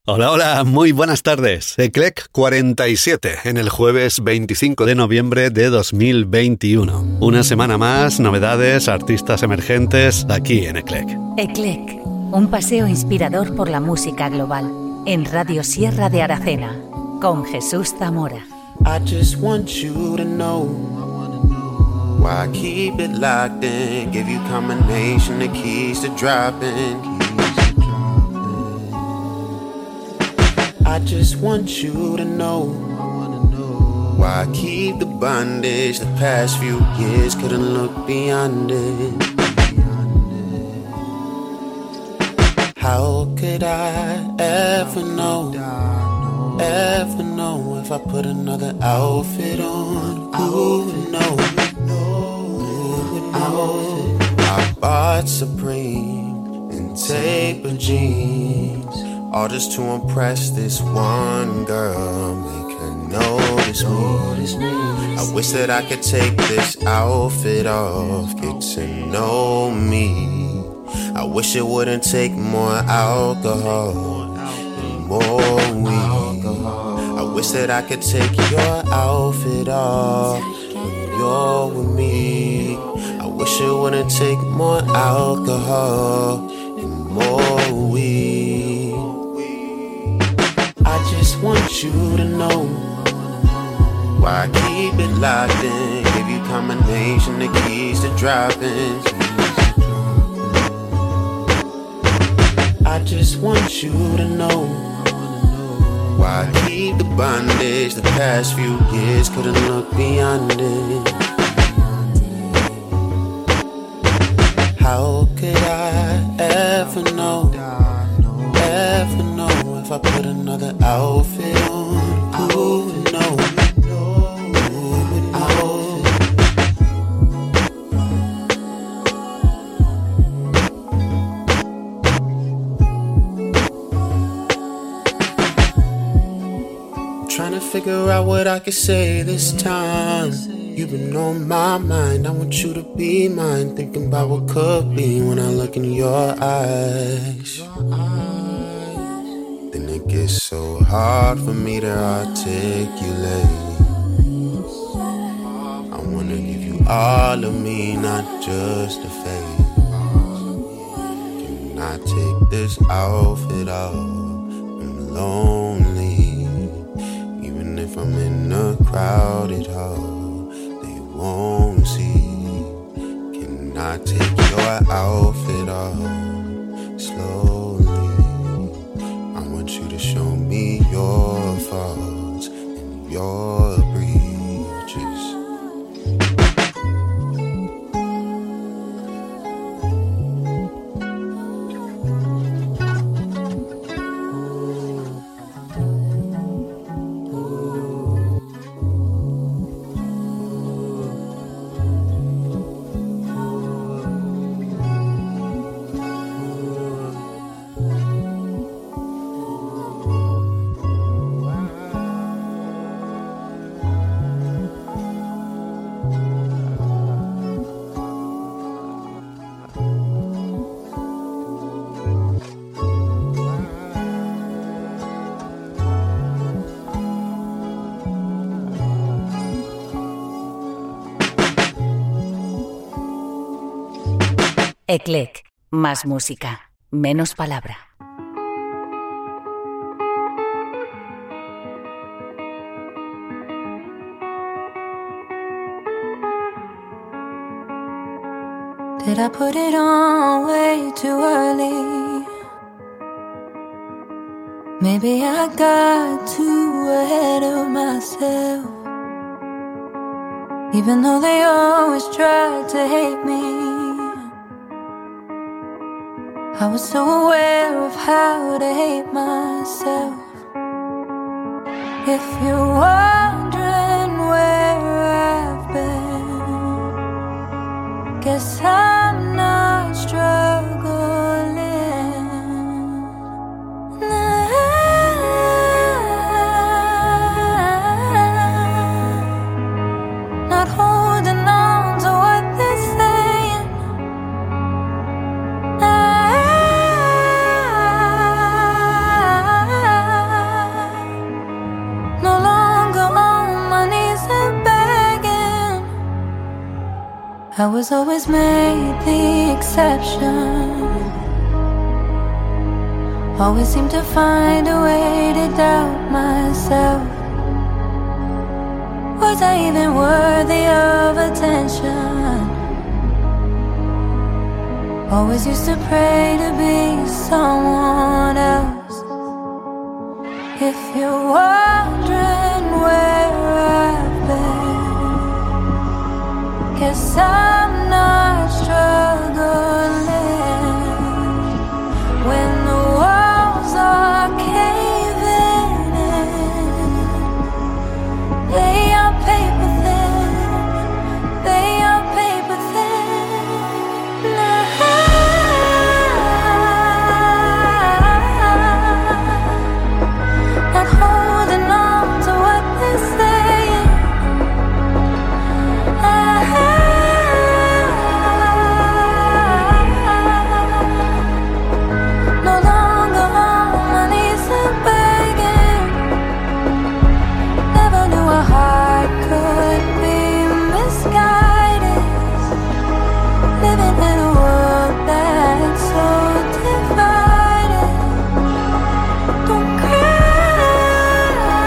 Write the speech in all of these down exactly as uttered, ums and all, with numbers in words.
Hola, hola, muy buenas tardes. Eclec cuarenta y siete en el jueves veinticinco de noviembre de dos mil veintiuno. Una semana más, novedades, artistas emergentes aquí en Eclec. Eclec, un paseo inspirador por la música global en Radio Sierra de Aracena con Jesús Zamora. I just want you to know why I keep it locked in. Give you combination the keys to dropping. I just want you to know why I keep the bondage. The past few years couldn't look beyond it. How could I ever know, ever know if I put another outfit on? Who would know? Who would know? I bought Supreme and tapered jeans, all just to impress this one girl, make her notice me. I wish that I could take this outfit off, get to know me. I wish it wouldn't take more alcohol and more weed. I wish that I could take your outfit off when you're with me. I wish it wouldn't take more alcohol and more weed. I just want you to know why I keep it locked in. Give you combination the keys to dropping. I just want you to know why I keep the bondage. The past few years couldn't look beyond it. How could I ever know, ever know if I put another outfit on? Who would know? Who would know? Trying to figure out what I could say this time. You've been on my mind, I want you to be mine. Thinking about what could be when I look in your eyes. Then it gets so hard for me to articulate. I wanna give you all of me, not just a face. Can I take this outfit off? I'm lonely. If I'm in a crowded hall, they won't see. Can I take your outfit off slowly? I want you to show me your faults and your breaches. Eclec, más música, menos palabra. Did I put it on way too early? Maybe I got too ahead of myself. Even though they always tried to hate me, I was so aware of how to hate myself. If you're wondering where I've been, guess I'm not struggling. Not holding on to what they're saying. I I was always made the exception. Always seem to find a way to doubt myself. Was I even worthy of attention? Always used to pray to be someone else. If you're wondering where I've been, guess I'm not struggling. When the walls are caving in, lay your paper thin, lay your paper thin. Not holding on to what they're saying. No longer on my knees and begging. Never knew a heart could be misguided. Living in a world that's so divided. Don't cry.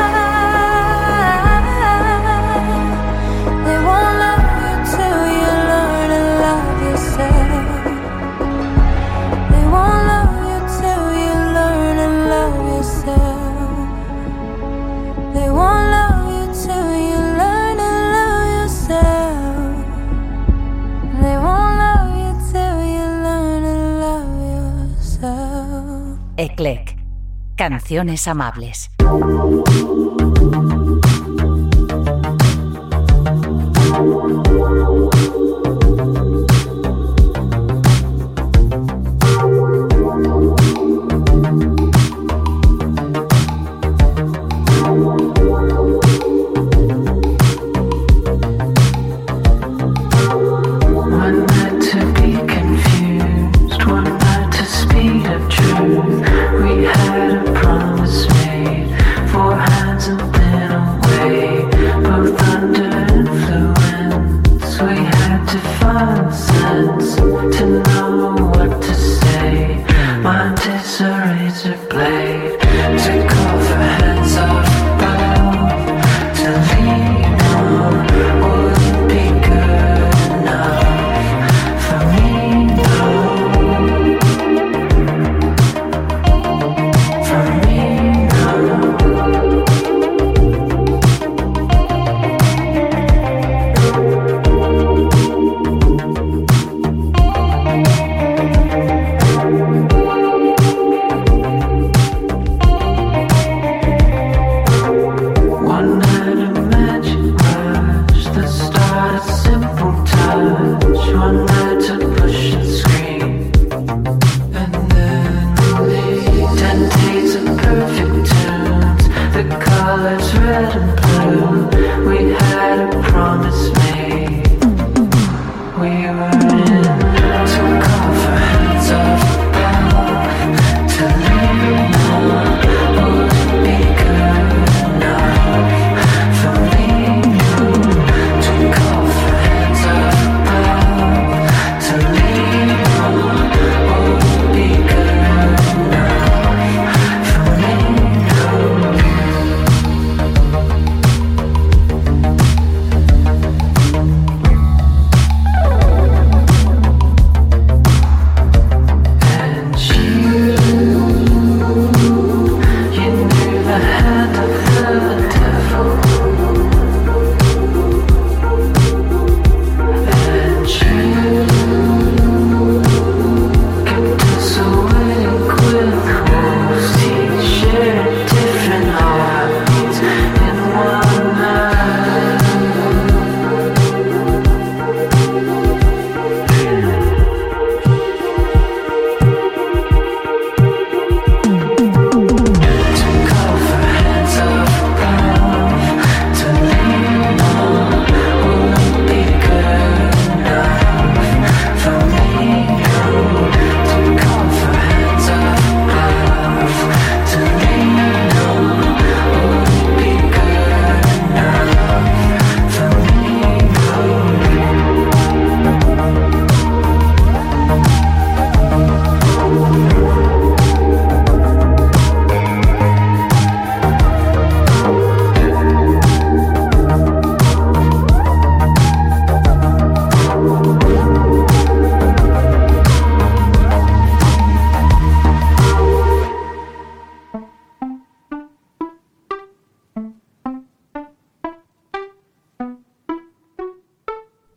They won't love you till you learn to love yourself. They won't love you till you learn to love yourself. They won't love you till you learn to love yourself. They won't love you till you learn to love yourself. Eclec. Canciones amables. One night to be confused, one night to speed of truth. We had a promise made, four hands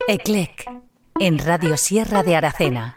Eclec, en Radio Sierra de Aracena.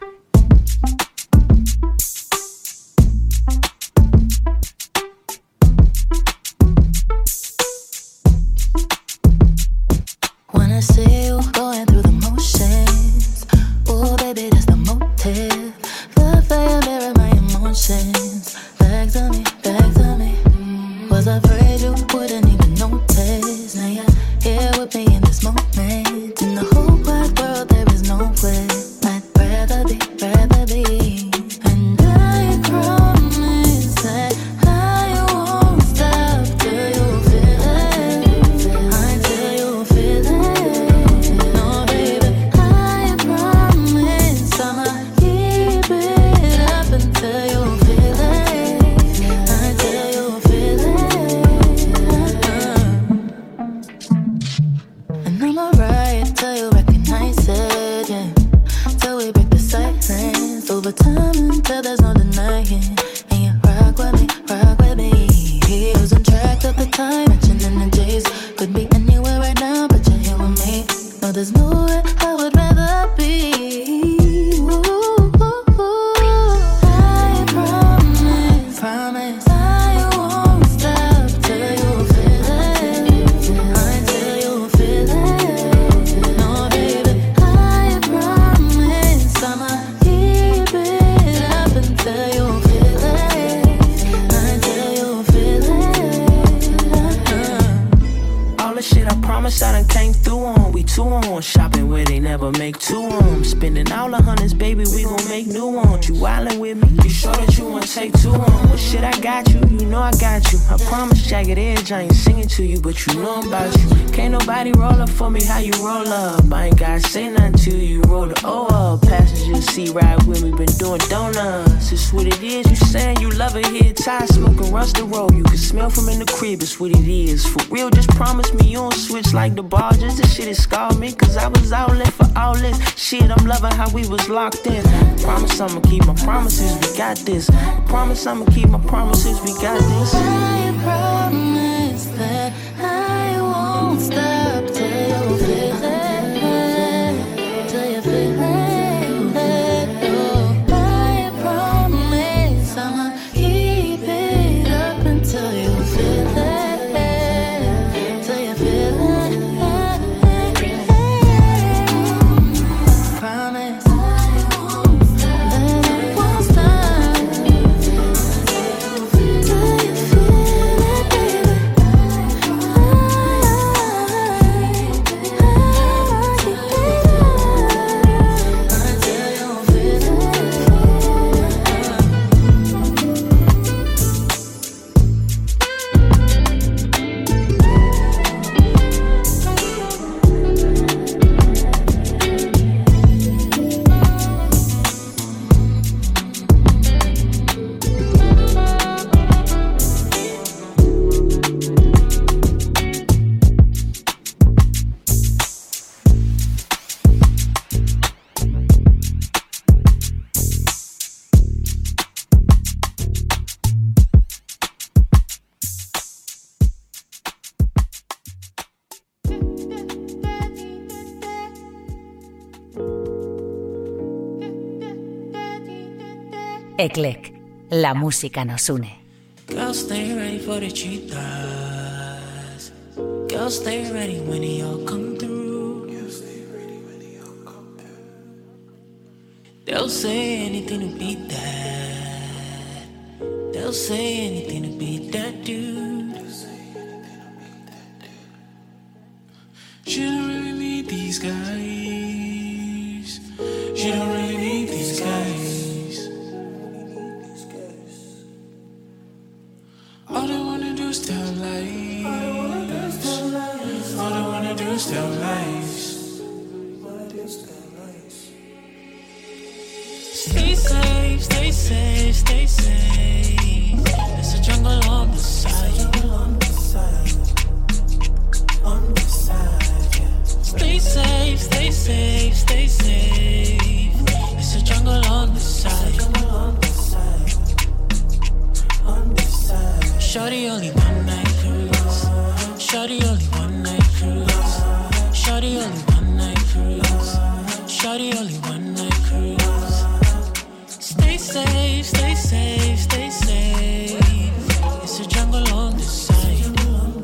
When I see you going through the motions, oh baby, that's the motive. The fire mirror my emotions. Back to me, back to me. Was afraid you wouldn't even notice. Now you're here with me in this moment. In the whole wide world, there is no way I'd rather be, rather be. And I promise that I won't stop till you feel it. Until you feel it. No, baby, I promise I'ma keep it up until you feel it. Until you feel it. uh. And I'ma ride till you recognize it, yeah. Till we break the silence. Over time until there's no denying. And you rock with me, rock with me. Losing track of the time, matching energies. Could be anywhere right now, but you're here with me. No, there's nowhere I would rather be. Ooh, ooh, ooh. I promise, promise I won't stop till you feel it. Until you feel it. No, baby, I promise I'ma keep it up until you feel it. Until you feel it. uh. All the shit I promised I done came through on. We two on, shopping where they never make two on. Spending all the hundreds, baby, we gon' make new ones. You wildin' with me, you sure that you wanna take two on? Well, shit, I got you, you know I got you. I promise, jagged edge, I ain't singing to you, but you know I'm about you. Can't nobody roll up for me, how you roll up? I ain't gotta say nothing to you, roll the O up. Passenger seat ride with me, been doing donuts. It's what it is, you saying you love it here. Tie smoking rusted roll, you can smell from in the crib, it's what it is. For real, just promise me you don't switch like the barges. This shit has scarred me, cause I was outlet for all this. Shit, I'm loving how we was locked in. Promise I'ma keep my promises, we got this. Promise I'ma keep my promises, we got this. I promise that I won't stop till you feel it. Till you feel it. Oh, I promise I'ma keep it up until you feel it. Till you feel it. Promise that I won't stop till you feel it, baby. Eclec, la música nos une. Girl, stay ready for the cheetahs. Girl, stay ready when they all come through. Girl, stay ready when they all come through. They'll say anything to beat that. They'll say anything to beat that dude. They'll say anything to beat that dude. She don't really need these guys. She don't really need these guys. All they wanna do is tell lies. All they wanna do is tell lies. Stay safe, stay safe, stay safe. There's a jungle on the side. On the side, yeah. Stay safe, stay safe, stay safe. There's a jungle on the side. Shawty only one night cruise. Shawty only one night cruise. Shawty only one night cruise. Shawty only one night cruise. Stay safe, stay safe, stay safe. It's a jungle on this side.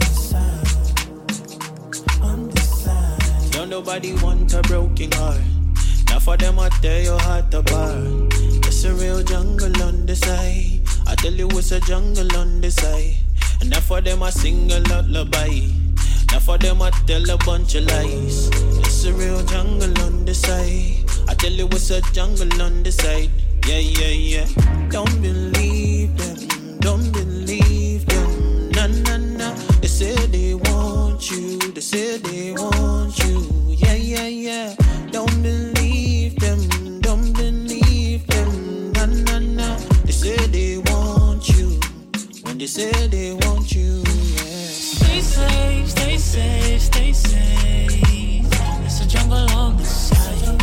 Don't nobody want a broken heart. Now for them I tear your heart apart. It's a real jungle on the side. I tell you it's a jungle on the side. And now for them I sing a lullaby. Now for them I tell a bunch of lies. It's a real jungle on the side. I tell you it's a jungle on the side. Yeah, yeah, yeah. Don't believe them. Don't believe them. Nah, nah, nah. They say they want you. They say they want you. Yeah, yeah, yeah. Don't believe them. Don't believe them. Nah, nah, nah. They say they want you. When they say they want you, yeah. Stay safe, stay safe, stay safe. It's a jungle on the side.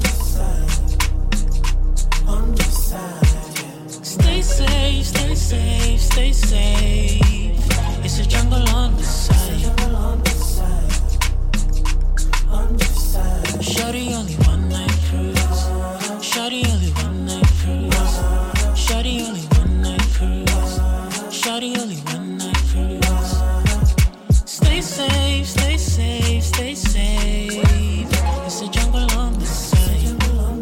On the side, yeah. Stay safe, stay safe, stay safe. It's a jungle on the side. On the side. Shawty only one night cruise. Shawty only one night cruise. Shawty only one night cruise. Shawty only one night cruise. Stay safe, stay safe, stay safe. It's a jungle on the side.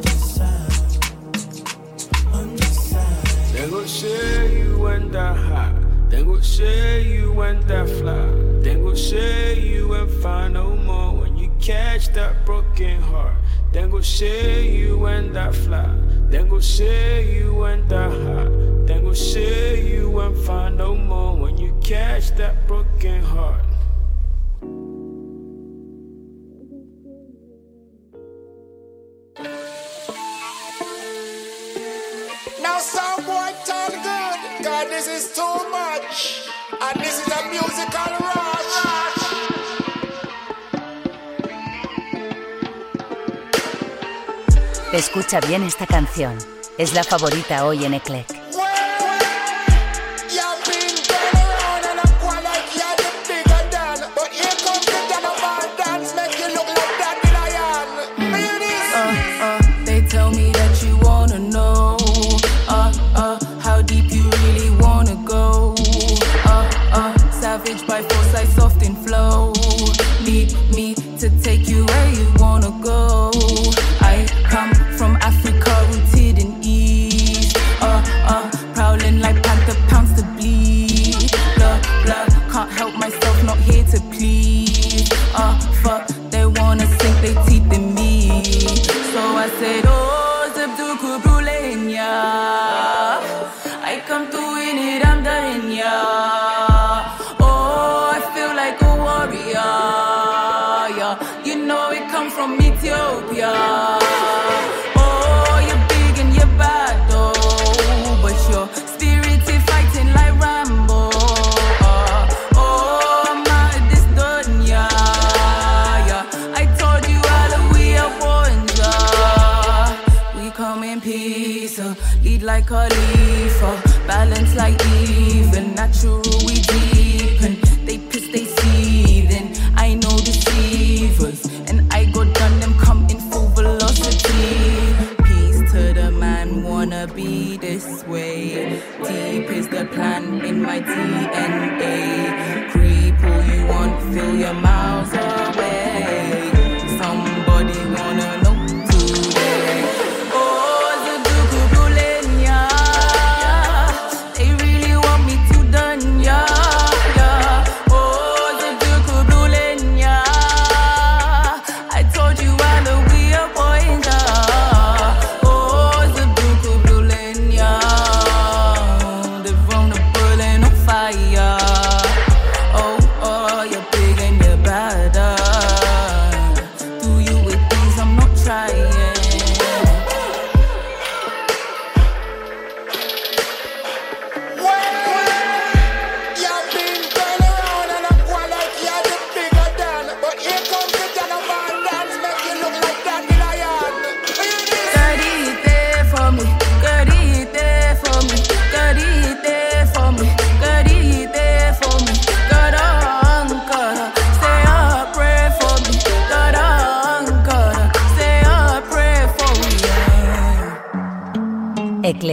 On the side. They gon' share you when that hot. They gon' share you when that fly. They gon' share you and find no more when you catch that broken heart. They gon' share you when that fly. They gon' share you when that hot. They gon' share you and find no more when you catch that broken heart. Now some boy turn good, God this is too much. And this is a musical rush. Escucha bien esta canción. Es la favorita hoy en Eclec. By force, I soft and flow. Need me to take you where you wanna go. I come from Africa, rooted in East. Uh, uh, prowling like panther, pounds to bleed. Blah, blah, can't help myself, not here to please. Uh, fuck, they wanna sink their teeth in me. So I said, oh, Zebduku Brulenya. I come to win it, I'm done, yeah. From Ethiopia. Oh, you're big and you're bad though, but your spirit is fighting like Rambo. Uh, oh, I'm out of this dunya. Yeah, I told you all of we are ones. Uh, we come in peace, uh, lead like a leaf, uh, balance like even, natural we deepen. They piss, they seething. I know deceivers. I go down them come in full velocity. Peace to the man, wanna be this way. Deep is the plan in my D N A. Creep all you want, feel your miles away. Somebody wanna know today. Oh, the Duku Bulenya. They really want me to done ya.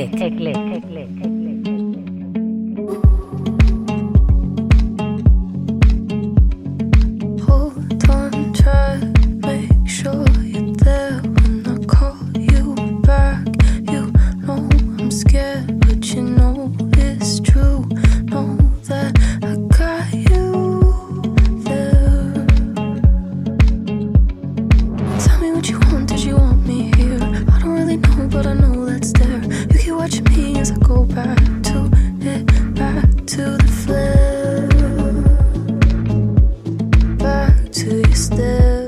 Eclec, Eclec, Eclec, Eclec. Hold on, try, make sure you're there when I call you back. You know I'm scared, but you know it's true. Know that I got you there. Tell me what you want, did you want me here? I don't really know, but I know that's there. You keep watching me as I go back to it, back to the flare, back to your stare.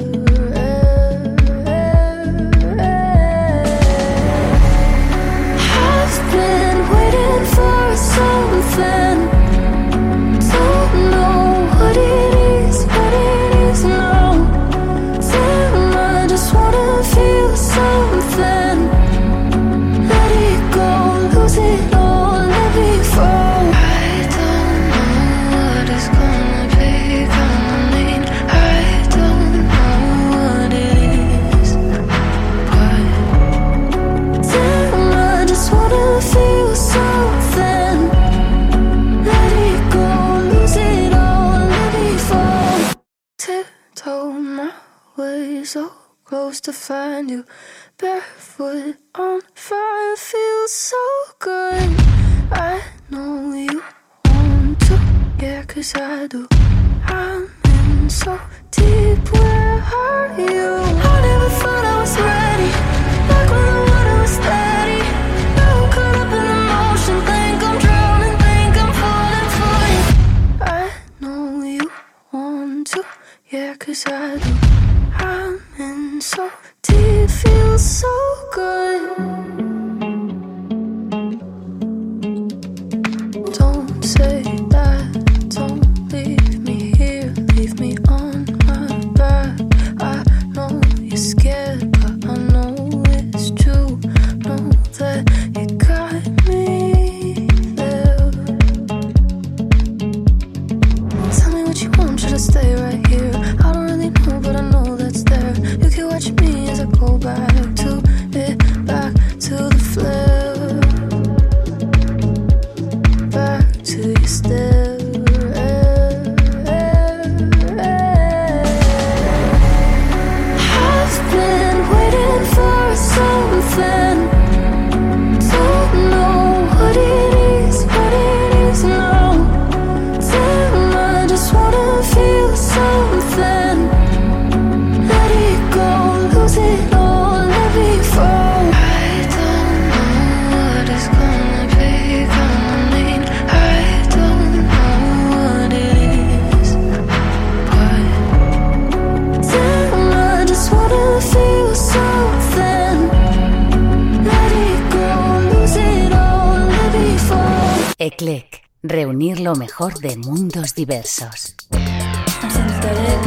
I've been waiting for something. Don't know what it is, what it is now. Damn, I just wanna feel something. Let it go, lose it all, let me fall. I don't know what it's gonna be, gonna mean. I don't know what it is, but damn, I just wanna feel something. Let it go, lose it all, let me fall. Tiptoe my way so close to find you. Barefoot on fire, feels so good. I know you want to, yeah, 'cause I do. I'm in so deep, where are you? I never thought I was ready, like when the water was steady. Now I'm caught up in the motion, think I'm drowning, think I'm falling for you. I know you want to, yeah, 'cause I do. I'm in so deep, feels so good. Don't say that, don't leave me here, leave me on my back. I know you're scared, but I know it's true. Know that you got me there. Tell me what you want, should I stay right here? I don't really know, but I know that's there. You can watch me as I go back to it, back to the flare, back to your stare. I've been waiting for something. Don't know what it is, what it is now. Damn, I just wanna feel something. Let it go, lose it all, let me fall. I don't know what it's gonna be, gonna mean. I don't know what it is, but damn, I just wanna feel something. Let it go, lose it all, let me fall. Eclec, reunir lo mejor de mundos diversos. I'm synthetic.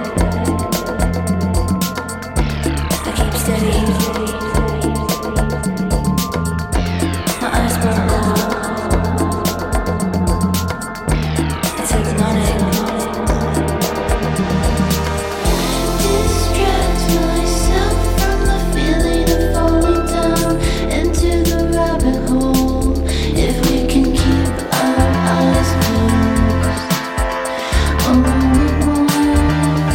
I keep steady. My eyes burn low. It's hypnotic. Distract myself from the feeling of falling down into the rabbit hole. If we can keep our eyes closed. Oh,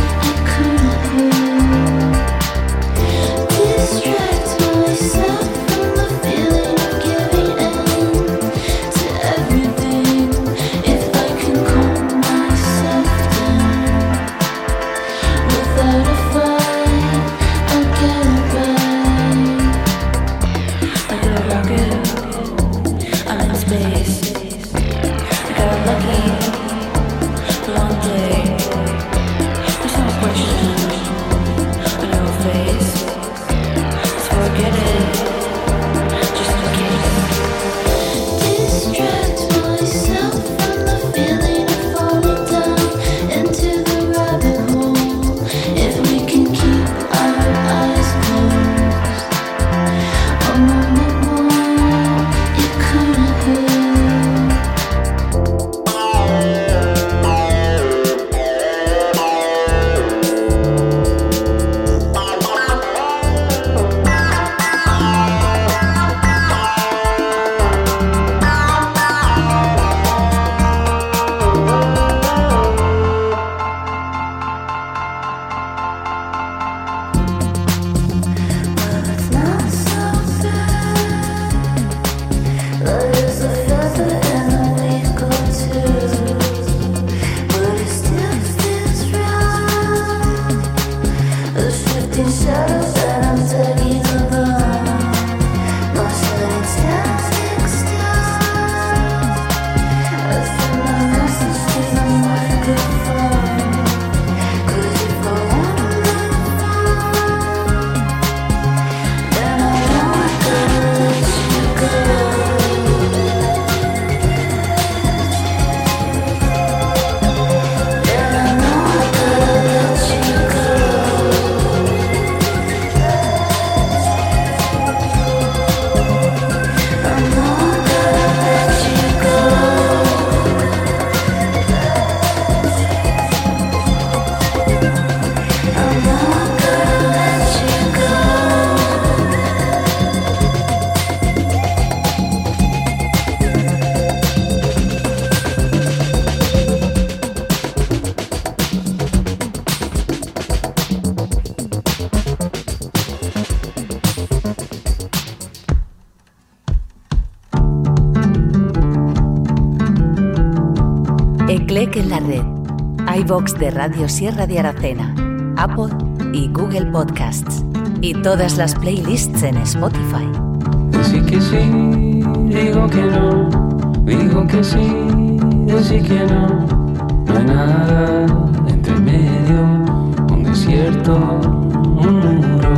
Eclec en la red. iVox de Radio Sierra de Aracena, Apple y Google Podcasts. Y todas las playlists en Spotify. Así que sí, digo que no, digo que sí, así que no. No hay nada entre medio, un desierto, un muro.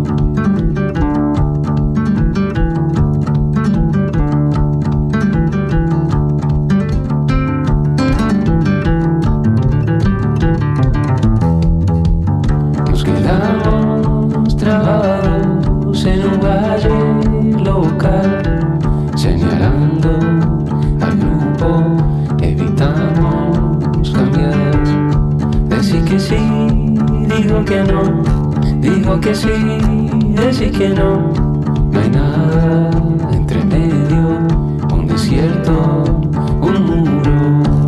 Nos quedamos trabados en un valle local, señalando al grupo, evitamos cambiar. Decir que sí, digo que no, digo que sí, decir que no. No hay nada entre medio, un desierto, un muro.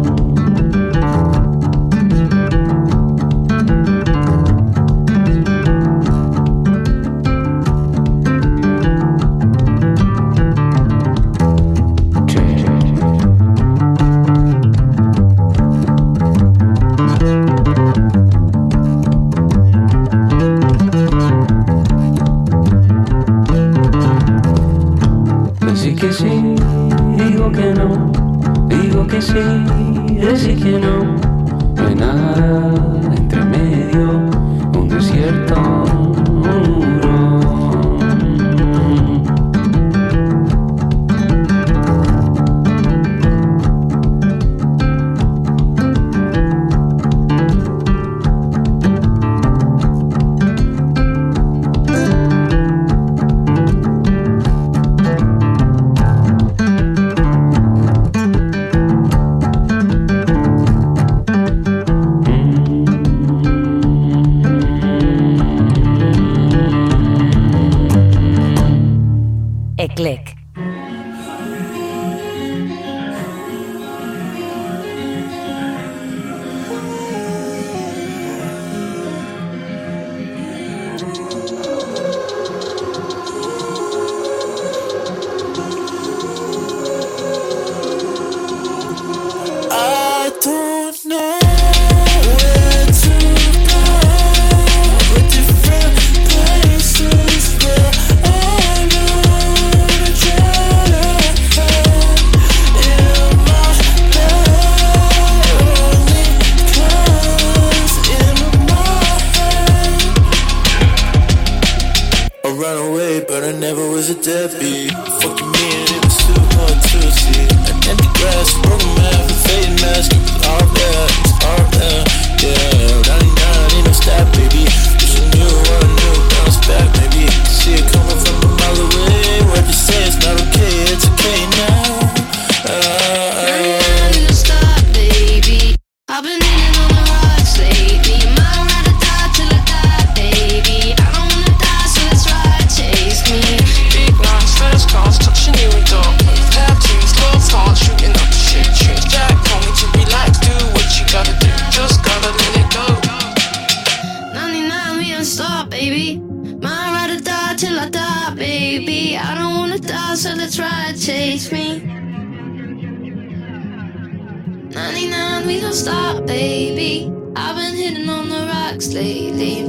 Que sí, digo que no, digo que sí, decir que no. No hay nada entre medio, un desierto, un muro. Eclec. I don't know where to go, but different places where I know to try to in my head, only comes in my head. I ran away, but I never was a deadbeat. Fucking me and it was too hard to see. An empty glass, broken mouth, a faded mask. It was all there, it was all there. Yeah, ninety-nine, ain't no stop, baby. Wish I knew what I knew, bounce back, maybe. See it coming from a mile away. Why'd you say it's not okay? It's okay now. Uh, uh, stop, baby. I've been hitting on the rocks lately. Might rather die till I die, baby. I don't wanna die, so that's right, chase me. Big lines, first class, touching you in dark. Tattoos, love hearts, shooting up shit tunes. Jack told me to relax, do what you gotta do. Just gotta let it go. ninety-nine, we don't stop, baby. Might rather die till I die, baby. I don't wanna die, so let's ride, chase me. ninety-nine, we don't stop, baby. I've been hitting on the rocks lately.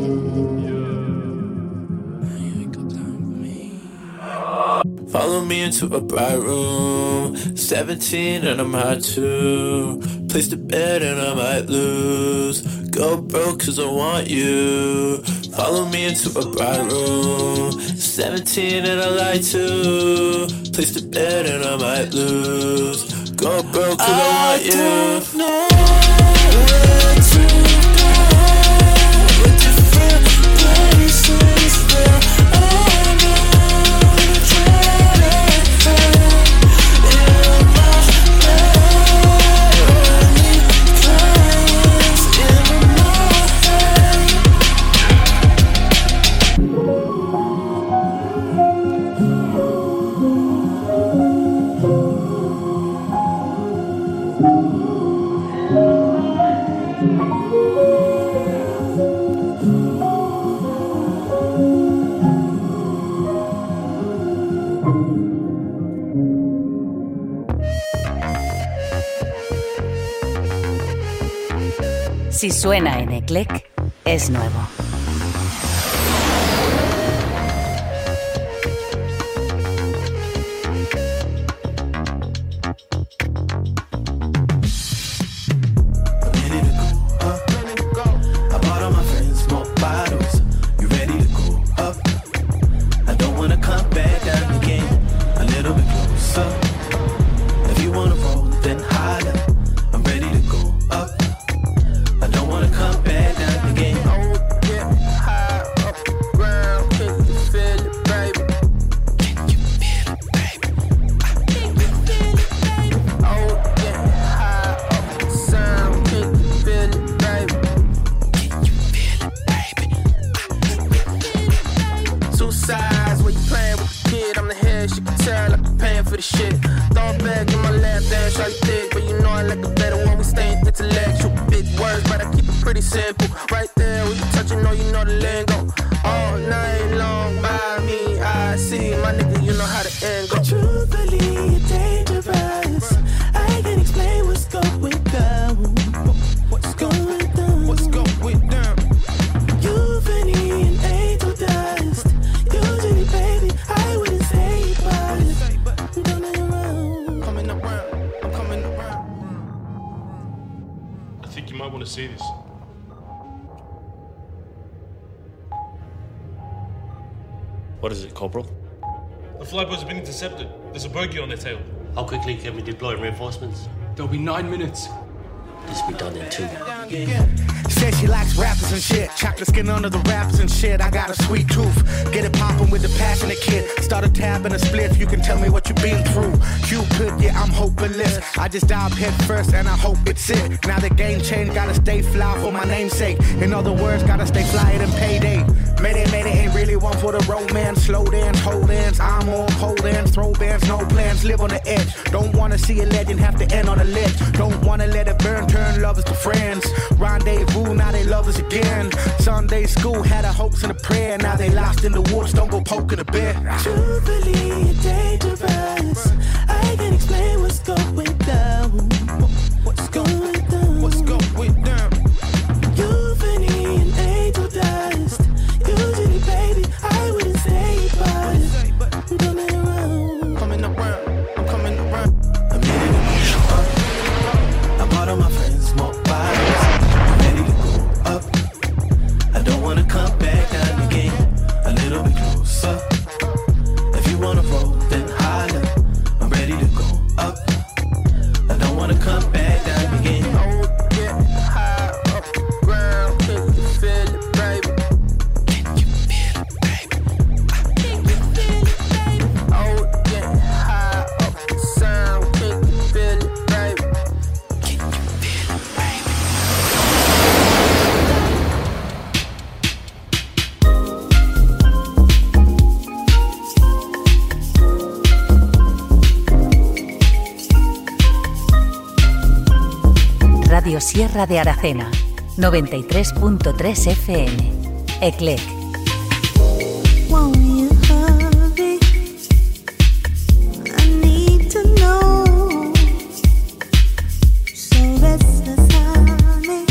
Follow me into a bright room. Seventeen and I'm high too. Place the bed and I might lose. Go broke cause I want you. Follow me into a bright room. Seventeen and I lie too. Place the bed and I might lose. Go broke cause I, I want you. I don't know where to go, but different places where I know. Si suena en Eclec, es nuevo. What is it, Corporal? The flyboys have been intercepted. There's a bogey on their tail. How quickly can we deploy reinforcements? There'll be nine minutes. This will be done in two. Said she likes rappers and shit. Chocolate skin under the wrappers and shit. I got a sweet tooth. Get it poppin' with the passionate kid. Start a tab and a split. You can tell me what you've been through. Cupid, yeah, I'm hopeless. I just dive head first and I hope it's it. Now the game changed. Gotta stay fly for my namesake. In other words, gotta stay flyer than payday. Mayday, mayday, ain't really one for the romance. Slow dance, hold hands. I'm on pole dance. Throw bands, no plans. Live on the edge. Don't wanna see a legend have to end on a ledge. Don't wanna let it burn. Turn lovers to friends. Rendezvous, now they lovers again. Sunday school had a hopes and a prayer. Now they lost in the woods, don't go poking the bear. Truthfully, you're dangerous. I can't explain what's going down. What's going down? What's going down? You're funny and angel dust. Usually, baby, I wouldn't say but I'm coming around. Coming around, I'm coming around. I'm ready to go up. I bought all my friends more bottles. I'm ready to go up. I don't wanna come back down again. A little bit closer. If you wanna roll, then holler. I'm ready to go up. I don't wanna come back down again. Oh, get high up the ground. Can you feel it, baby? Can you feel it, baby? Can you feel it, baby? Oh, get high up the sound. Can you feel it, baby? Can you feel it, baby? Radio Sierra de Aracena, noventa y tres punto tres F M. Eclec. Won't you hurry? I need to know. So restless, honey.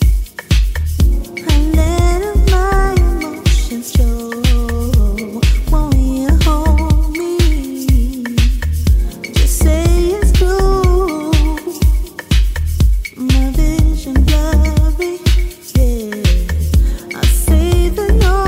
I let my emotions show. Won't you hold me? Just say it's true. My vision blurry, yeah. I say that no.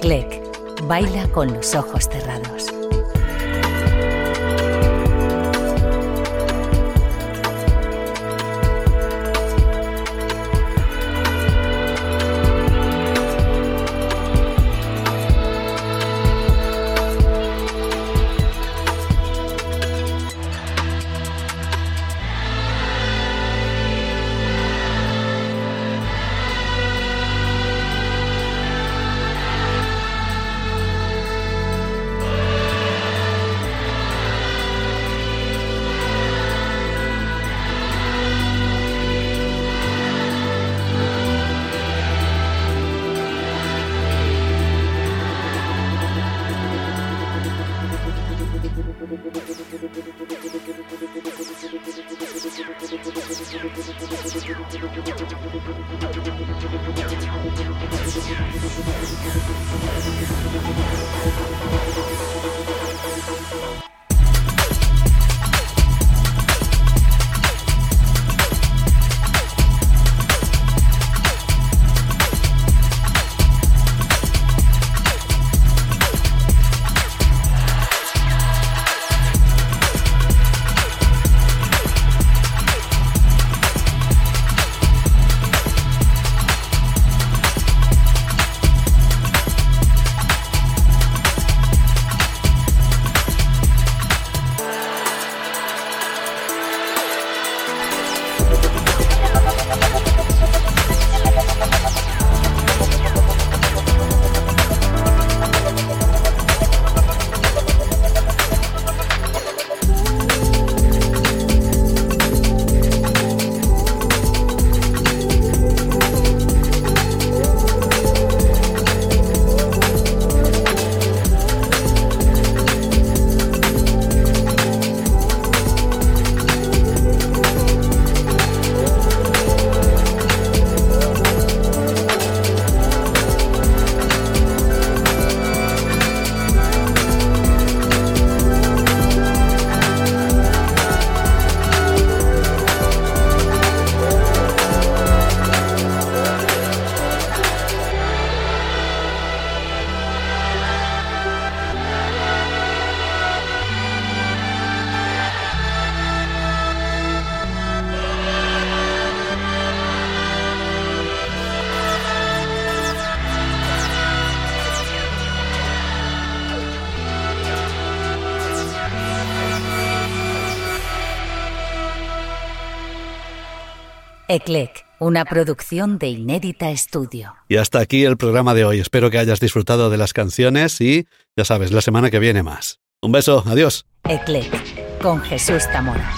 Eclec, baila con los ojos cerrados. Eclec, una producción de Inédita Studio. Y hasta aquí el programa de hoy. Espero que hayas disfrutado de las canciones y, ya sabes, la semana que viene más. Un beso, adiós. Eclec, con Jesús Zamora.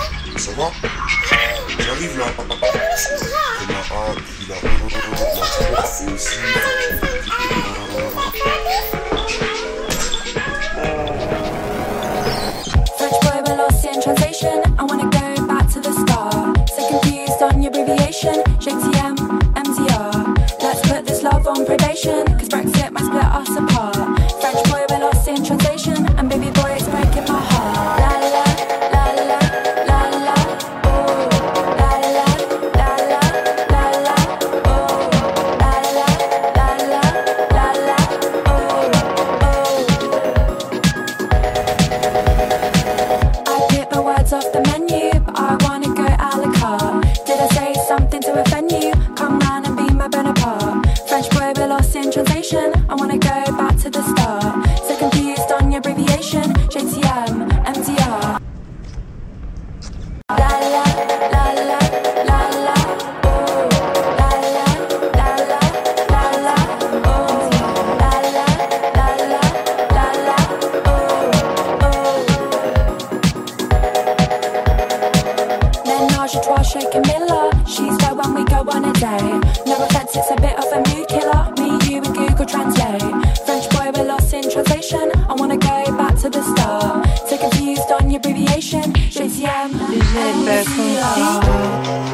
Translation, I wanna go back to the start. So confused on your abbreviation, J T M, M T R. Let's put this love on probation, cause Brexit might split us apart. French boy, we're lost in translation, and baby boy, it's breaking my heart. La la la la la la, oh. La la la la la la, oh. La la la la la la, oh, oh. Words off the menu, but I wanna go a la carte. Did I say something to offend you? Come round and be my Bonaparte. French boy, we're lost in translation. I wanna go back to the start. So confused on your abbreviation, J T M, M T R. La la la la la la, oh. La la la la la la, oh. La la la la la la, oh, oh. Menage a trois chez Camilla. She's there when we go on a day. No offense, it's a bit of a mood killer. Me, you and Google Translate. French boy, we're lost in translation. I wanna go back to the start. So confused on your abbreviation. J T M, M T R.